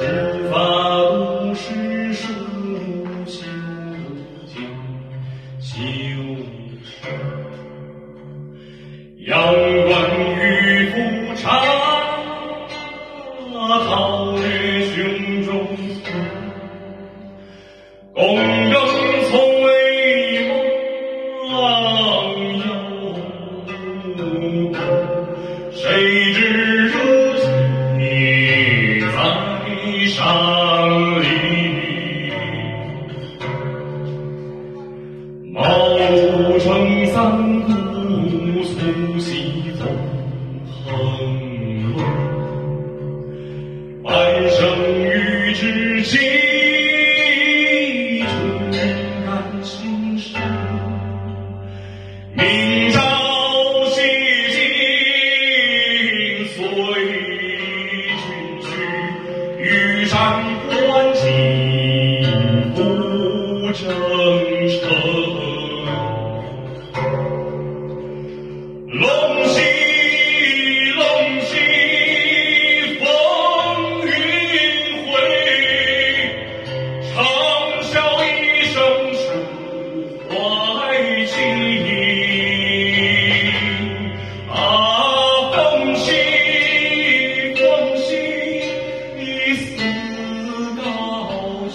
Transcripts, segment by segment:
发都是书修经，修成阳关玉肤长，皓月胸中存，公正从未忘忧国，谁知如今在上里，茅庐城三顾促西风横乱，半生与之情，诚然心生。明朝西京随君去，玉山关景复征程。龙兮龙兮风云会，长啸一声抒怀情。啊，风兮风兮似高去，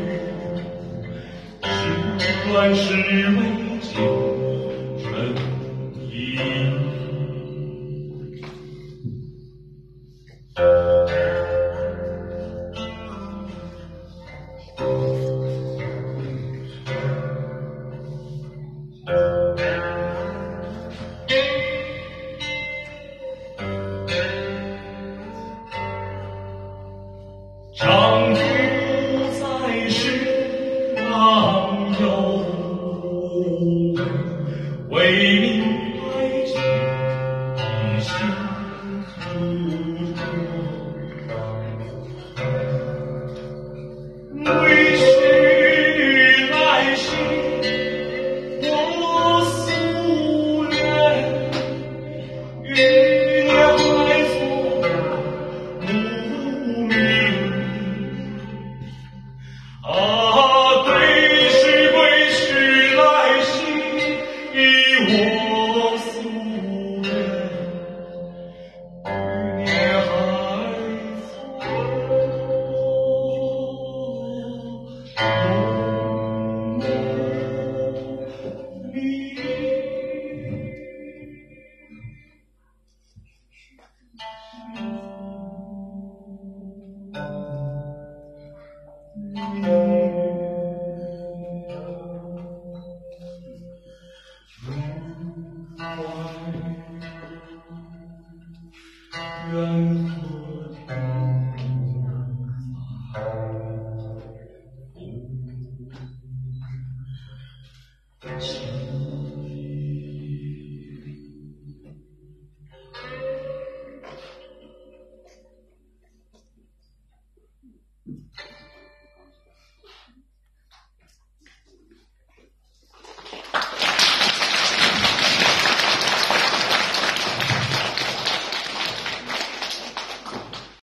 时乱时为旧尘衣。长